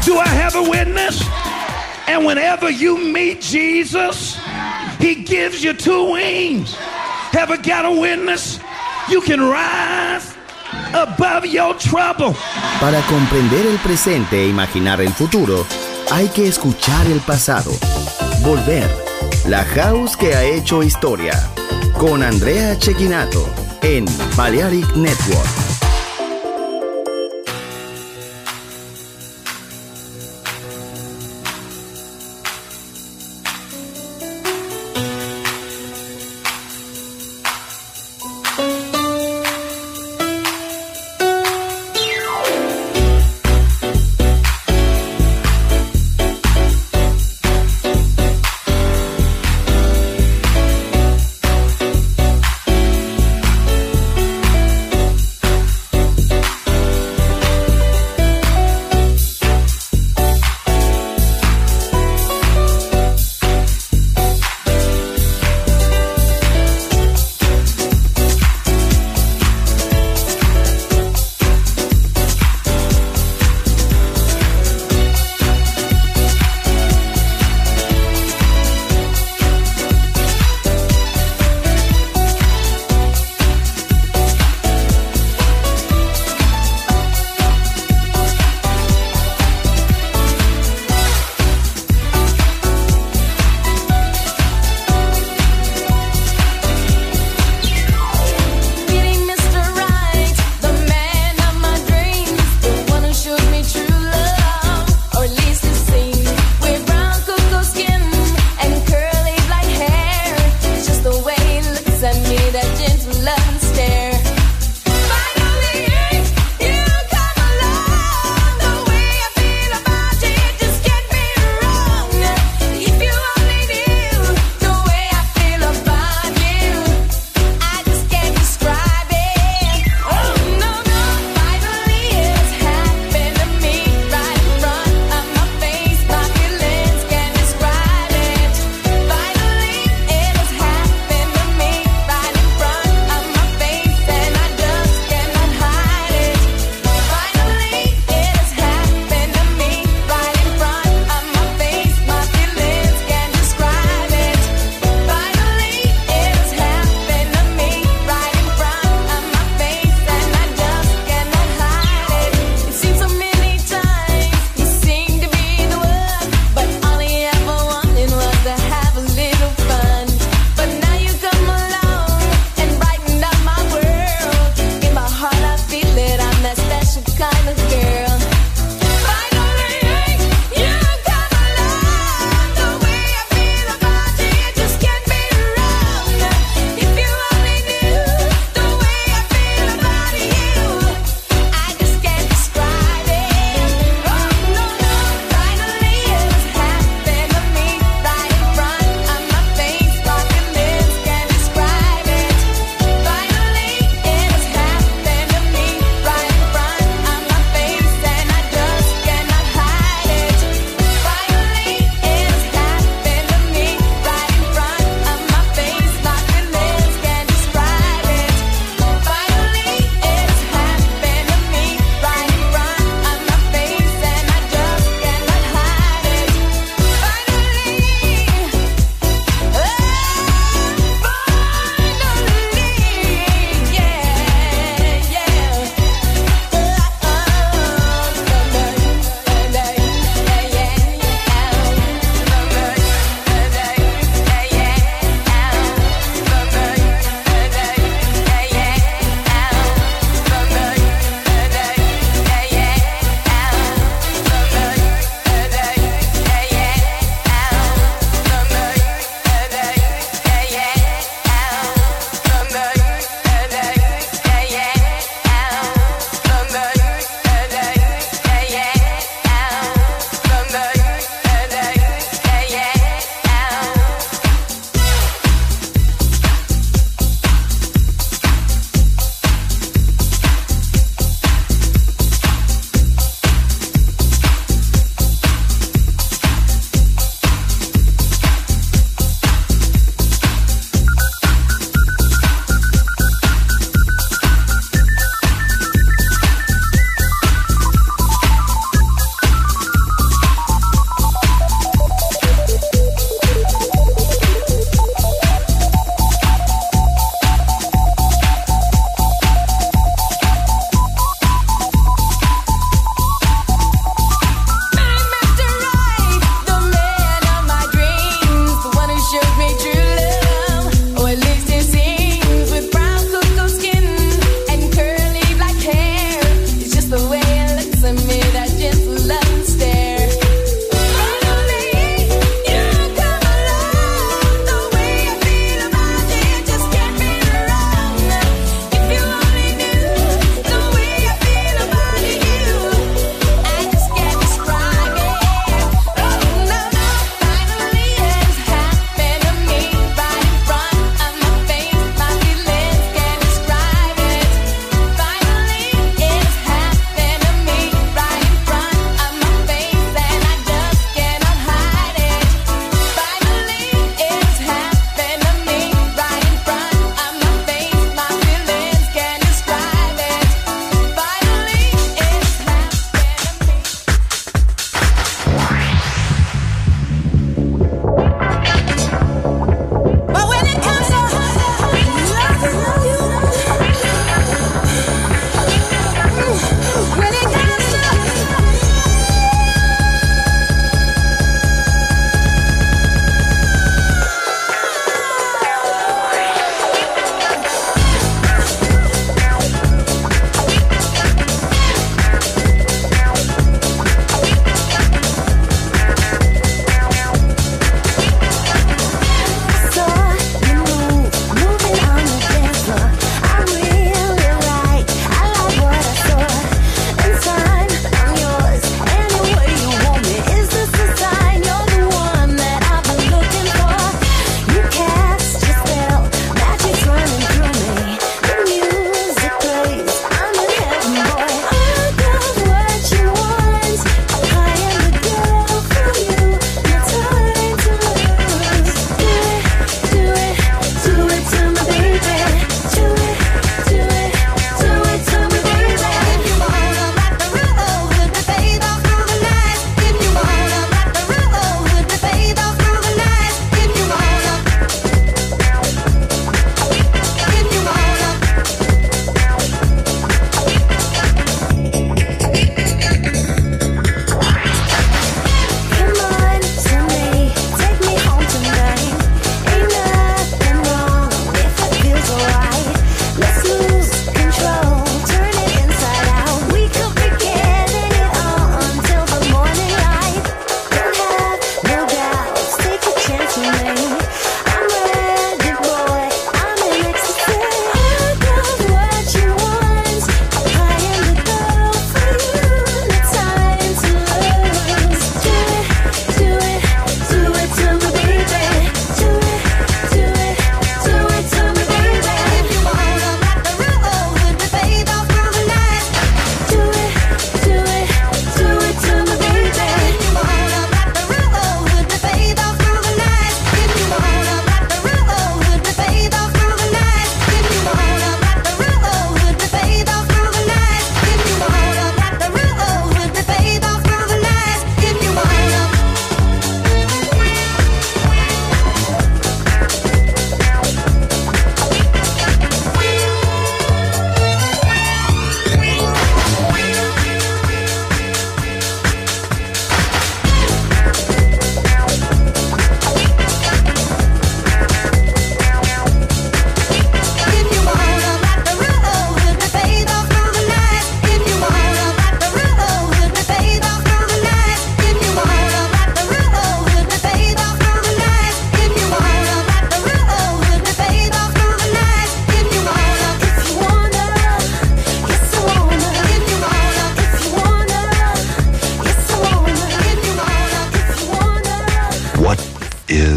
Do I have a witness? And whenever you meet Jesus, he gives you two wings. Have I got a witness? You can rise above your trouble. Para comprender el presente e imaginar el futuro, hay que escuchar el pasado. Volver. La House que ha hecho historia. Con Andrea Cecchinato en Balearic Network.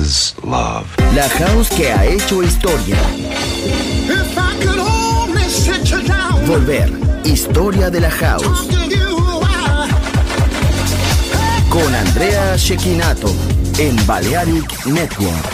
is love. La house que ha hecho historia. If I could only sit you down. Volver. Historia de la house. Con Andrea Cecchinato en Balearic Network.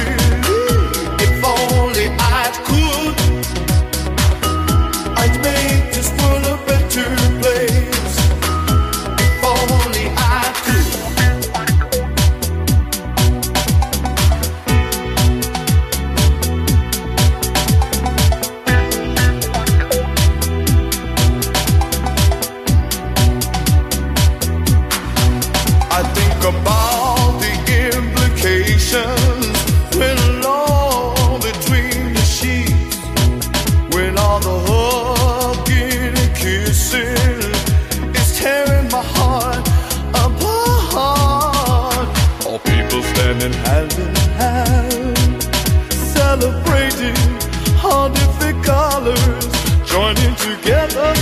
I'd make together,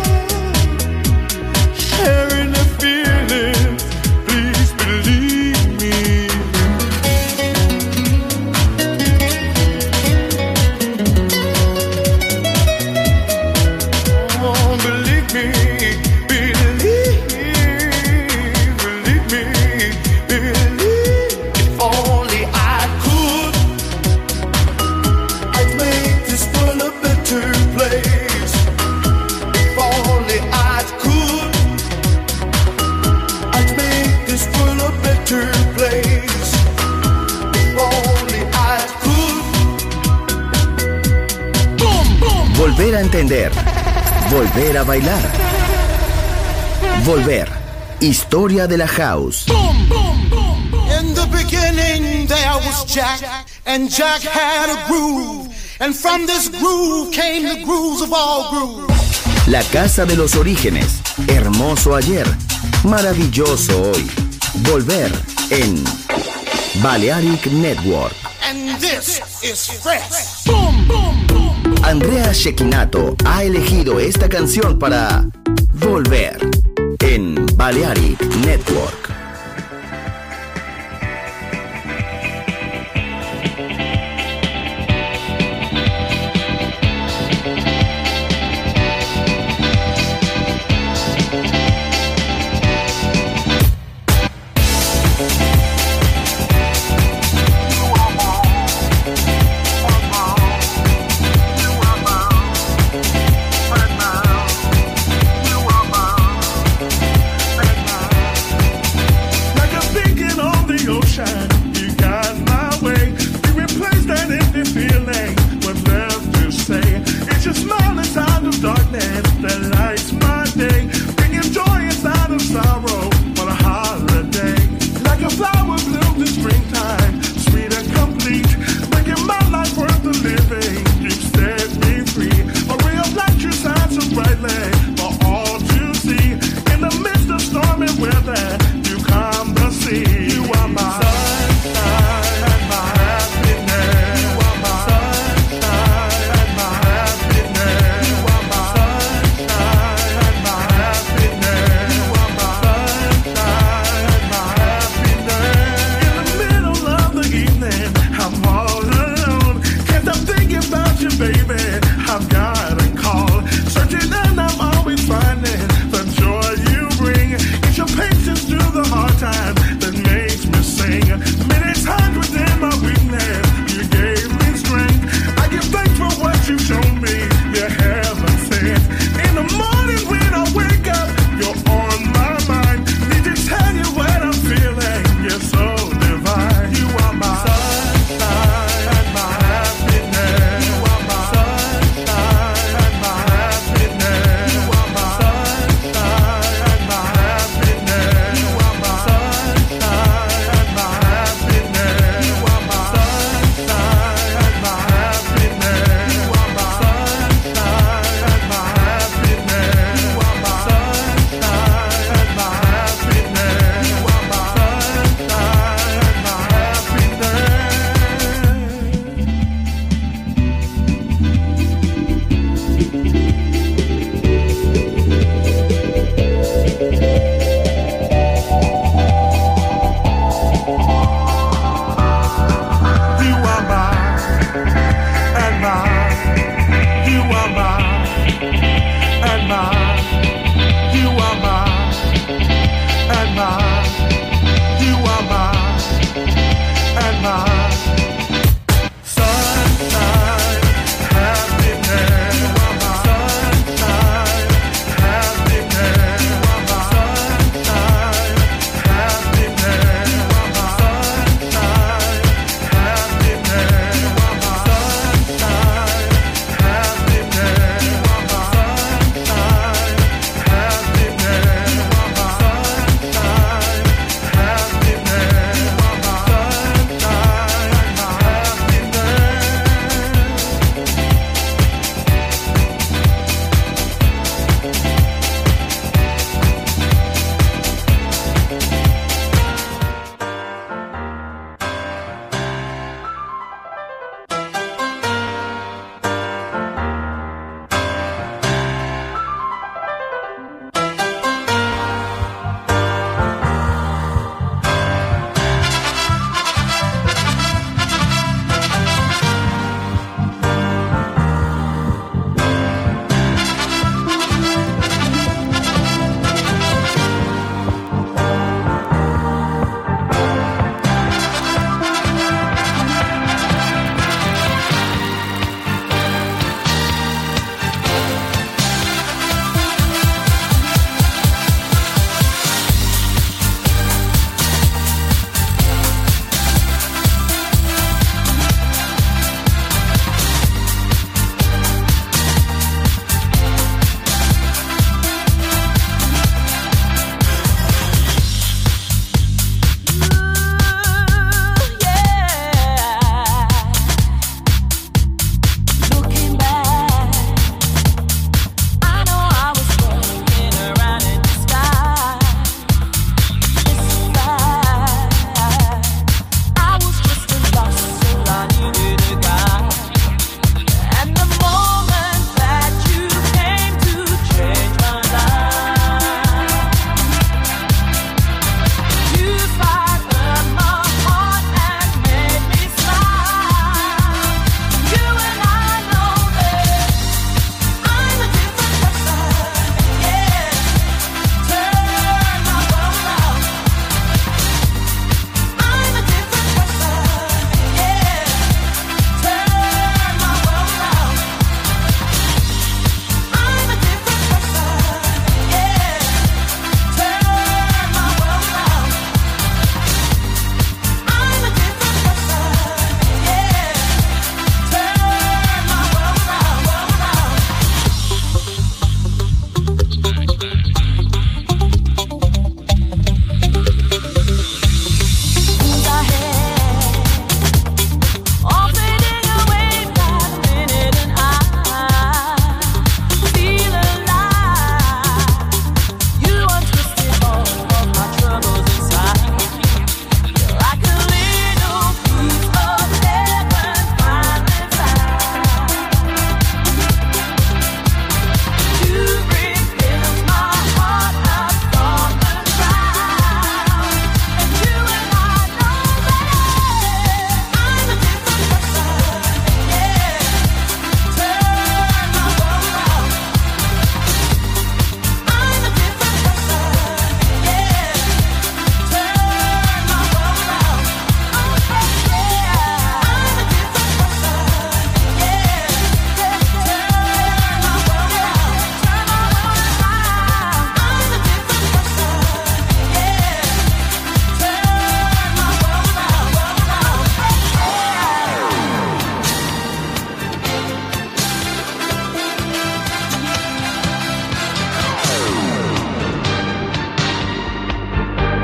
sharing the feelings. Please believe me. Oh, believe me. Volver a entender. Volver a bailar. Volver. Historia de la house. In the beginning there was Jack, and Jack had a groove, and from this groove came the grooves of all grooves. La casa de los orígenes. Hermoso ayer. Maravilloso hoy. Volver en Balearic Network. And this is fresh. Andrea Cecchinato ha elegido esta canción para Volver en Balearic Network.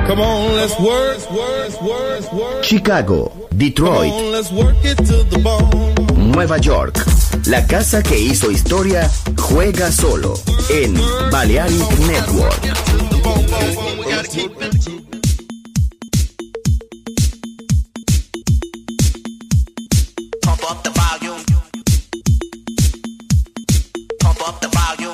Come on, let's work. Chicago, Detroit, Come on, let's work it to the bone. Nueva York. La casa que hizo historia juega solo en Balearic Network. Pump up the volume. Pump up the volume.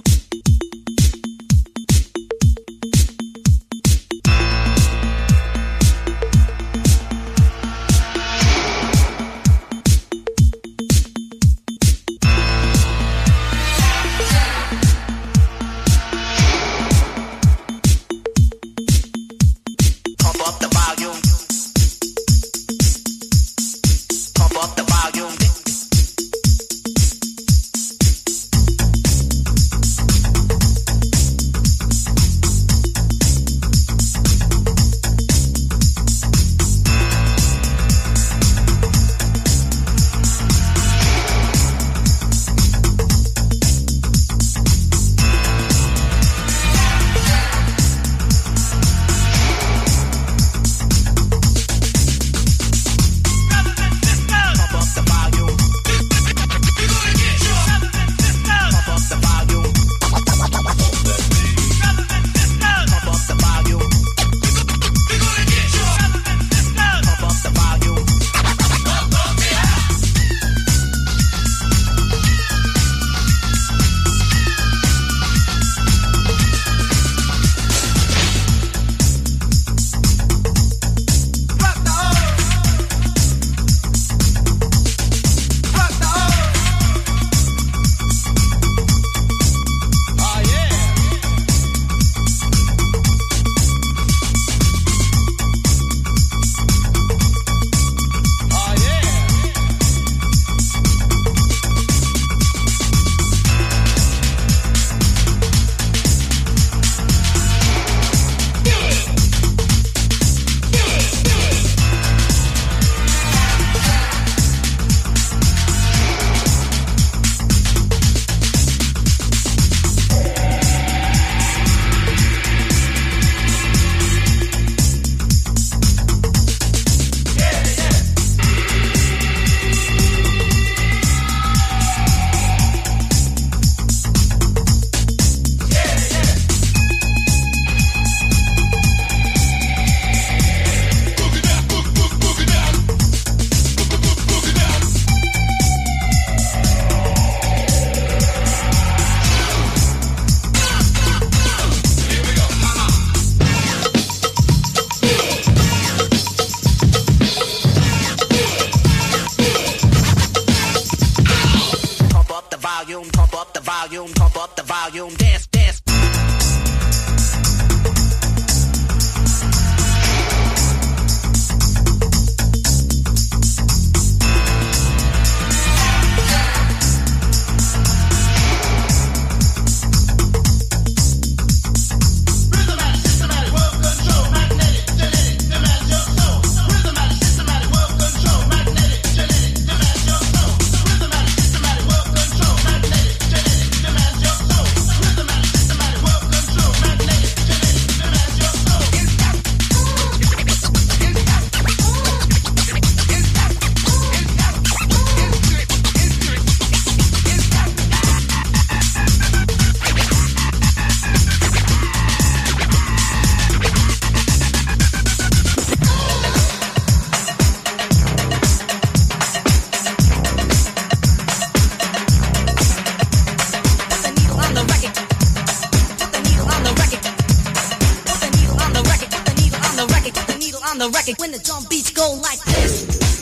When the drum beats go like this.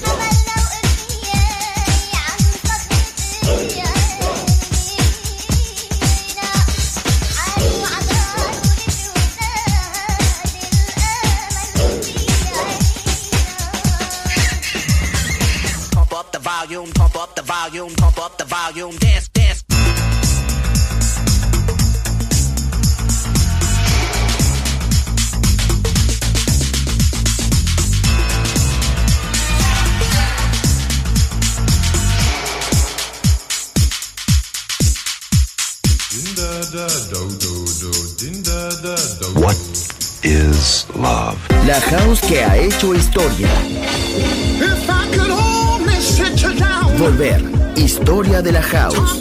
Pump up the volume, pump up the volume, pump up the volume, dance, dance. What is love. La house que ha hecho historia. If I could only sit you down. Volver. Historia de la house.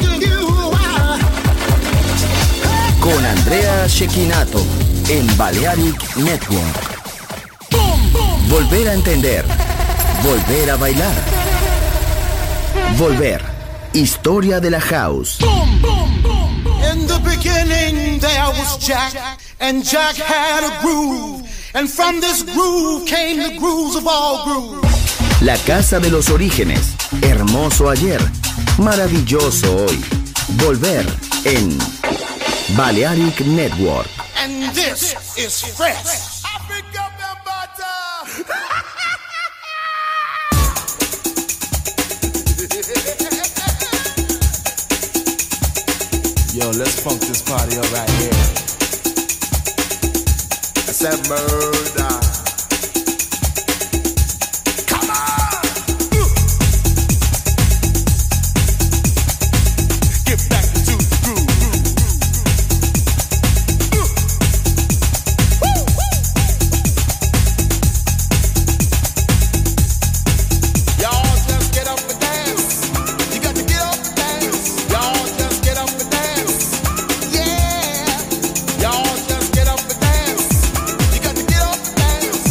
Con Andrea Cecchinato en Balearic Network. Volver a entender. Volver a bailar. Volver. Historia de la house. In the beginning there was Jack, and Jack had a groove, and from this groove came the grooves of all grooves. La casa de los orígenes. Hermoso ayer. Maravilloso hoy. Volver en Balearic Network. And this is fresh. Yo, let's funk this party up right here. I said murder. Come on! Get back to the groove. Y'all just get up and dance. You got to get up and dance. Y'all just get up and dance. Y'all just get up and dance. You got to get up and dance.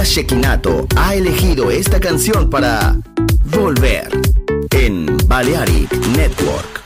Shekinato ha elegido esta canción para volver en Balearic Network.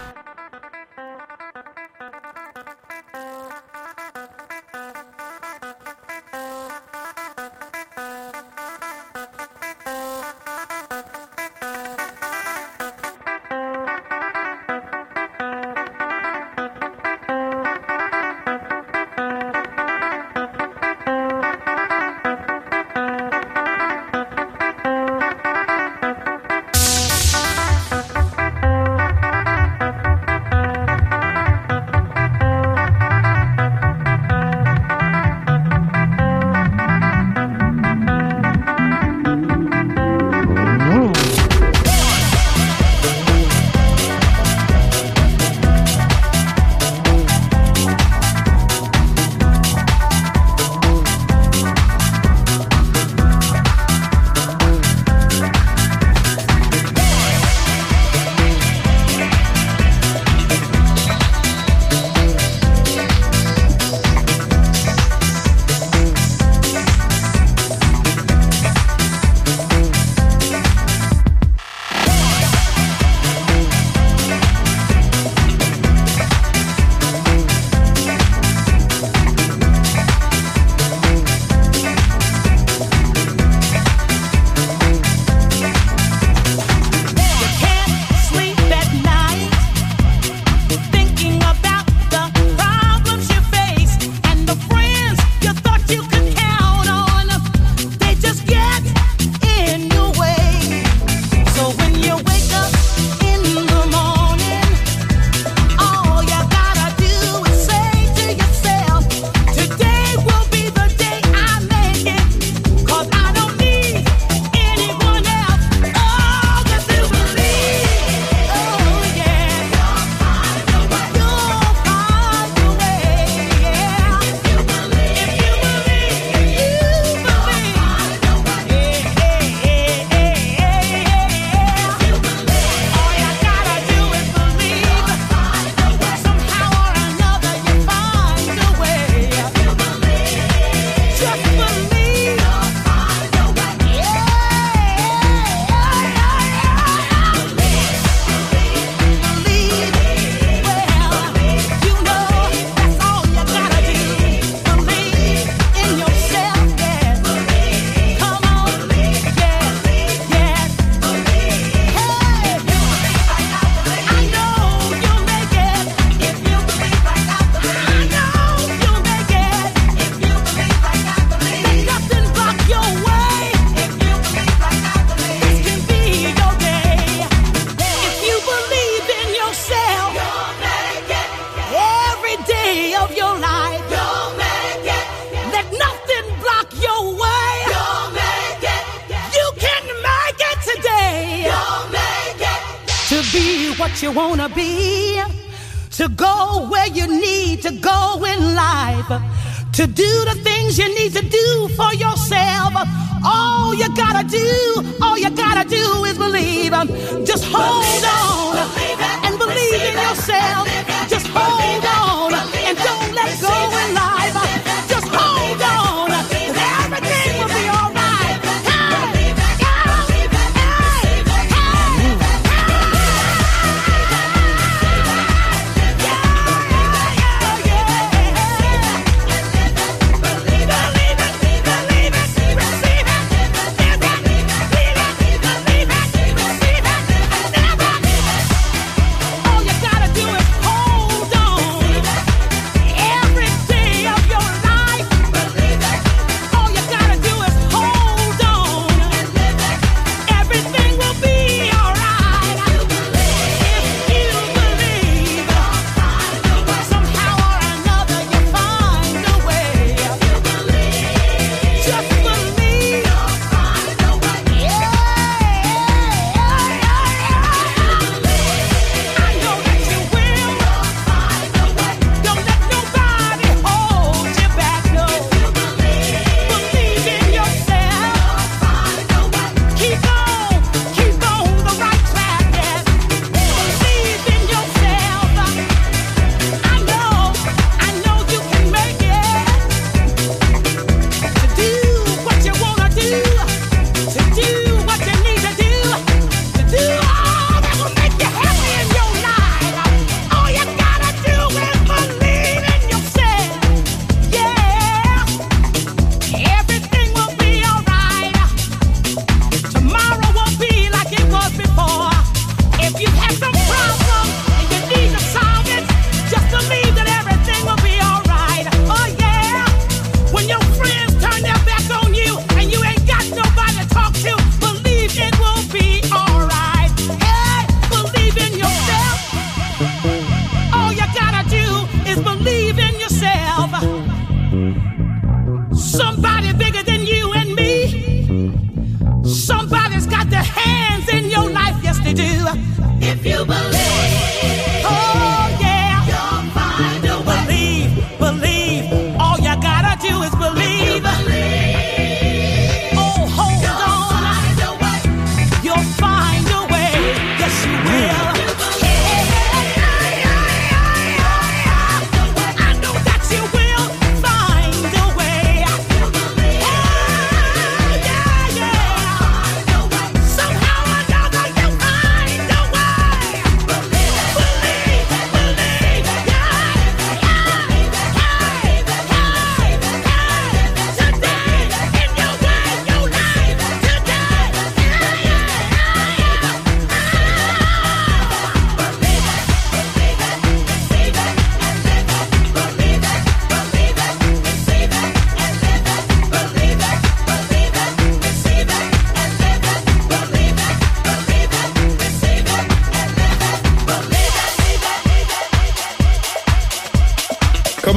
You wanna be, to go where you need to go in life, to do the things you need to do for yourself. All you gotta do is believe. Just hold on and believe in yourself. Just hold on and don't let go in life. Just hold on, 'cause everything will be all right. All you gotta do is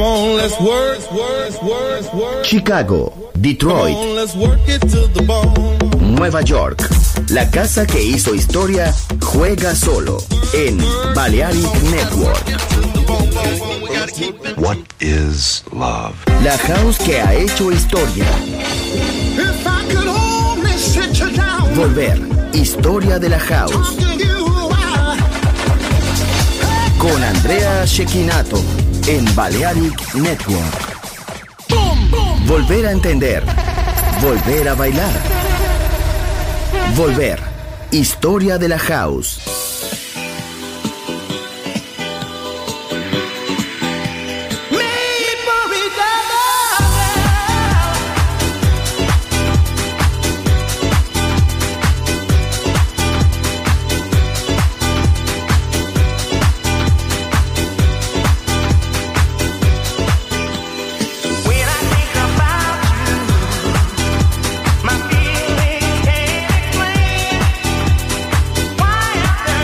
on, let's work. Chicago, Detroit, Come on, let's work it to the bone. Nueva York. La casa que hizo historia juega solo en Balearic Network. What is love? La house que ha hecho historia. If I could only sit you down, Volver. Historia de la house. talking you out. Con Andrea Cecchinato en Balearic Network. Volver a entender. Volver a bailar. Volver. Historia de la house. My feelings can't explain why I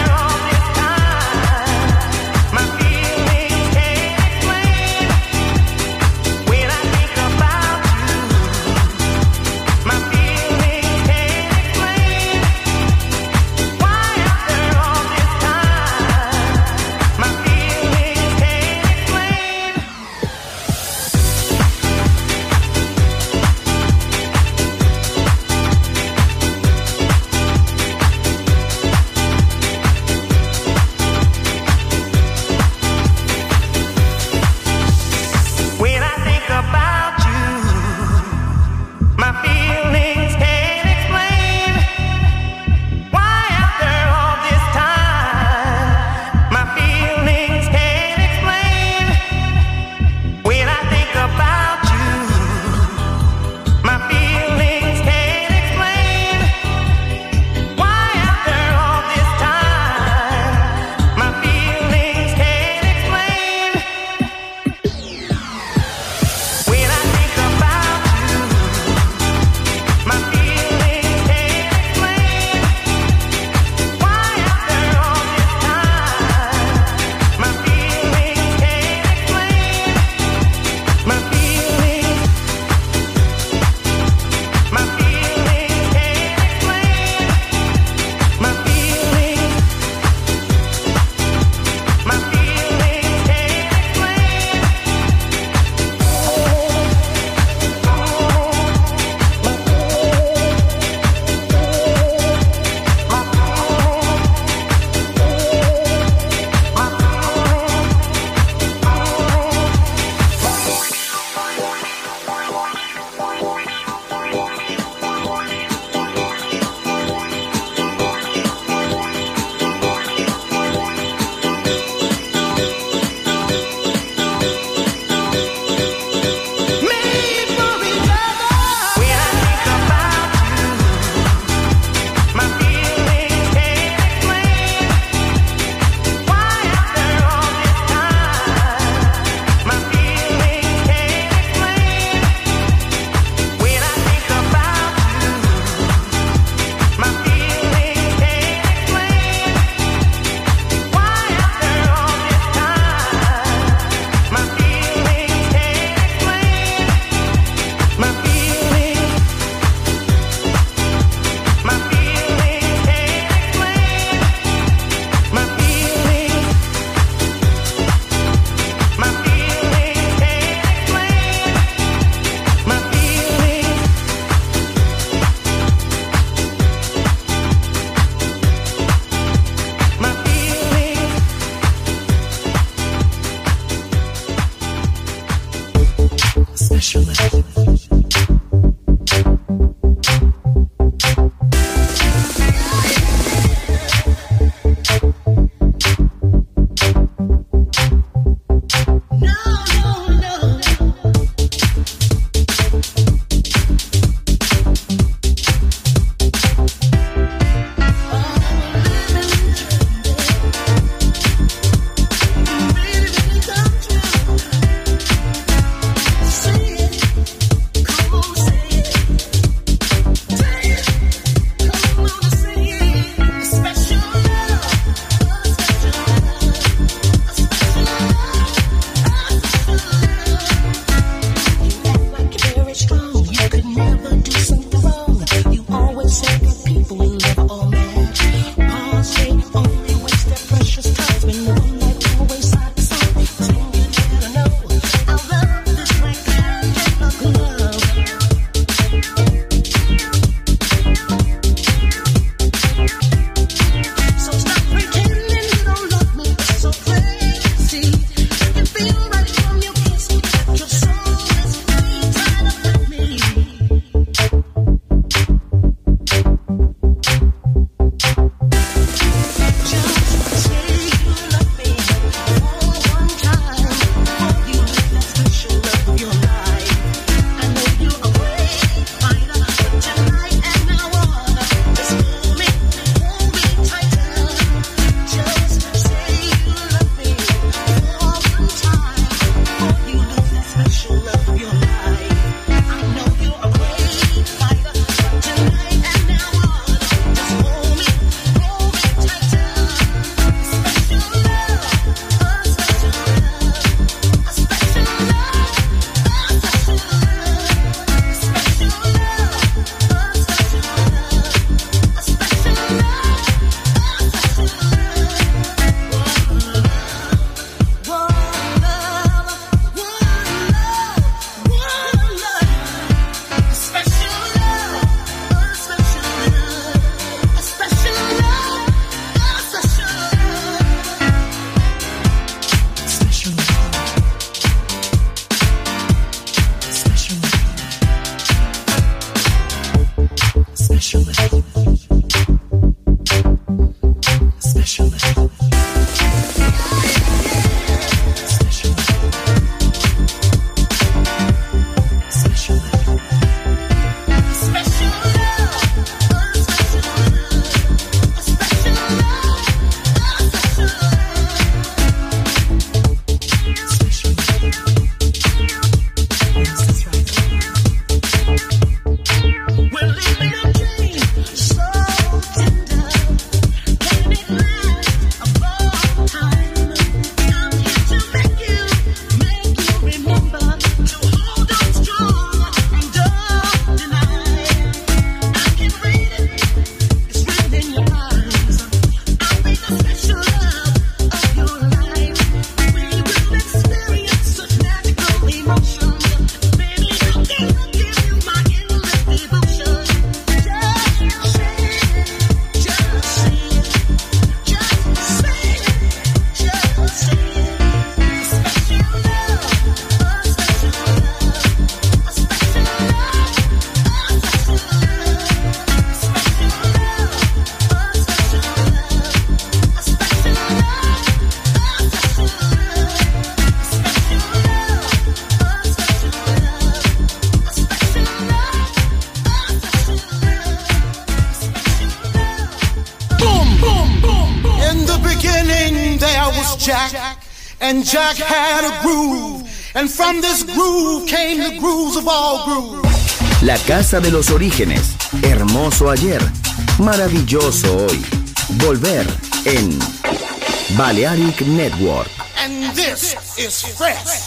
Jack, and Jack had a groove, and from this groove came the grooves of all grooves. La casa de los orígenes, hermoso ayer, maravilloso hoy. Volver en Balearic Network. And this is fresh.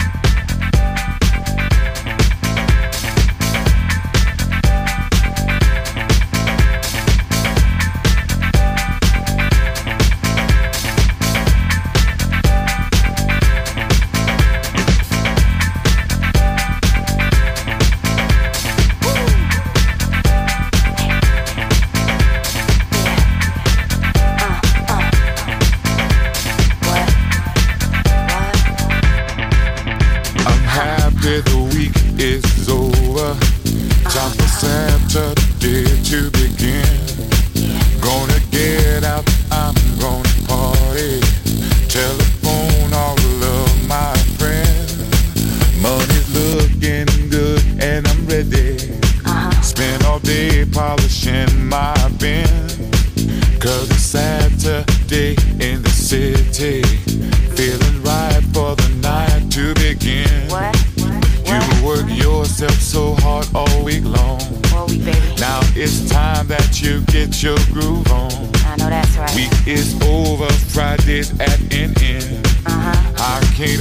The week is over. Time for Saturday to begin. Gonna get out, I'm gonna party. Telephone all of my friends. Money's looking good and I'm ready. Spend all day polishing my bin. Cause it's Saturday in the city. Feeling right for the night to begin. What? You work yourself so hard all week long. Now it's time that you get your groove on. I know that's right. Week is over, Friday's at an end. I can't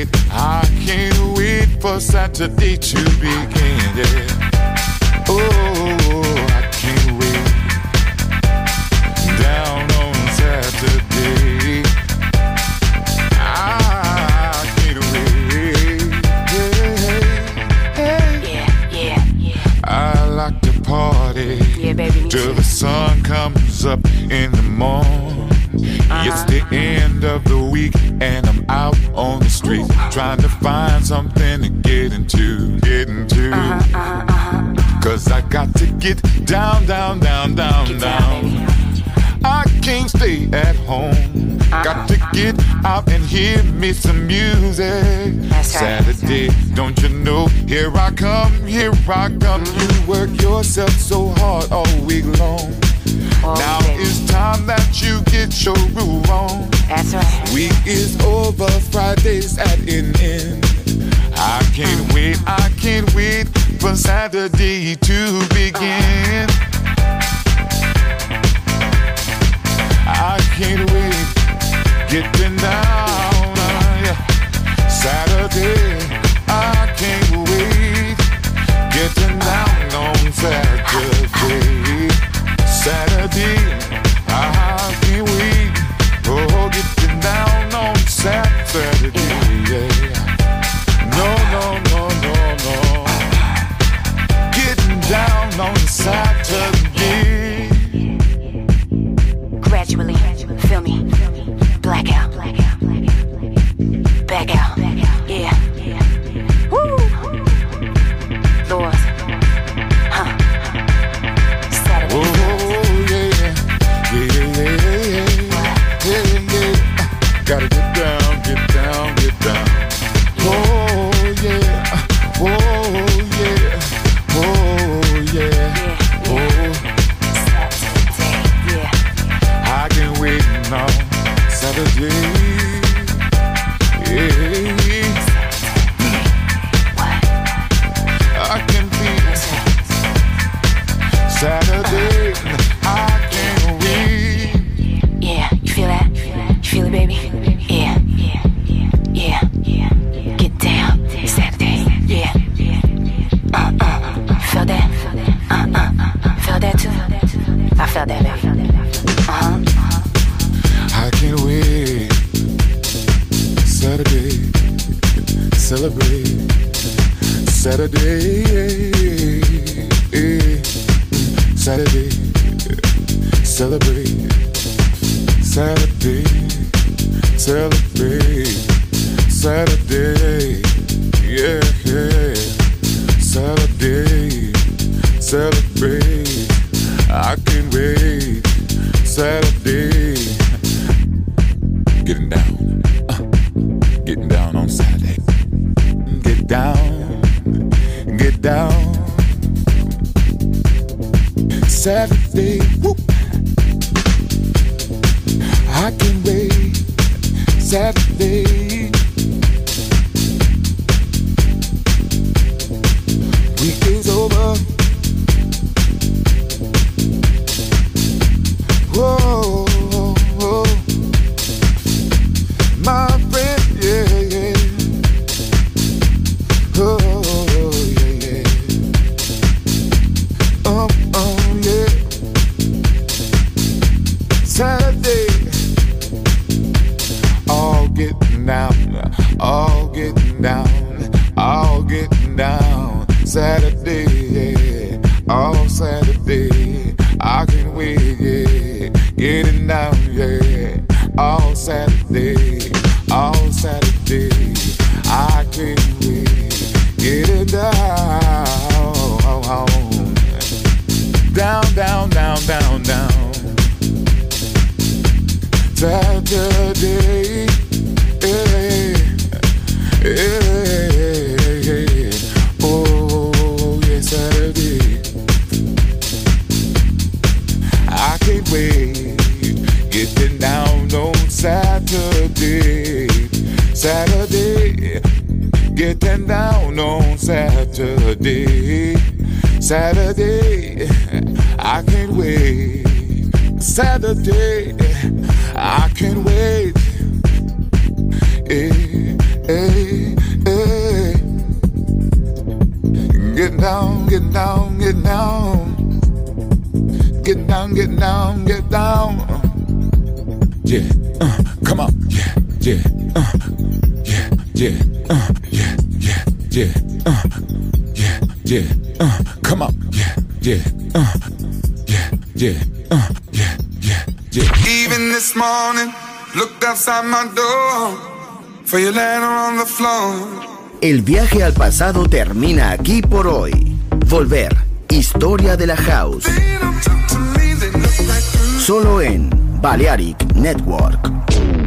wait for Saturday to begin. Yeah. Oh, I can't wait. Down on Saturday. Party, yeah, baby, till the sun comes up in the morning. It's the end of the week and I'm out on the street trying to find something to get into. Cause I got to get down. I can't stay at home. Got to get out and hear me some music. That's right. Saturday, don't you know? Here I come. You work yourself so hard all week long. Now it's time that you get your groove on. That's right. Week is over, Friday's at an end. I can't wait for Saturday to begin. I can't wait, getting down, Saturday, I can't wait, getting down on Saturday, I can't wait, oh, getting down on Saturday, yeah. No, getting down on Saturday. Saturday, I can't wait. Yeah, you feel that? You feel it, baby? Yeah, yeah, yeah. Get down, Saturday, yeah. Felt that? Felt that too? I felt that, baby. I can't wait. Saturday, celebrate. Saturday, Saturday, celebrate. Saturday, celebrate. Saturday, yeah, yeah. Saturday, celebrate. I can't wait. Saturday, getting down on Saturday. Get down. Saturday, whoop. I can't wait. Saturday. Weekend's over. Whoa, whoa. My friend, yeah, yeah. Oh, yeah, yeah. Yeah. Saturday, all getting down, all getting down, all getting down. Saturday, yeah, all Saturday, I can't wait, yeah, getting down, yeah, all Saturday, I can't wait, getting down, down. Saturday, oh yeah, Saturday. I can't wait, getting down on Saturday, getting down on Saturday, I can't wait. Saturday, I can't wait. Hey. Get down. Yeah, come on. Yeah. Come on. Yeah. Even this morning, looked outside my door for your letter on the floor. El viaje al pasado termina aquí por hoy. Volver, historia de la house. Solo en Balearic Network.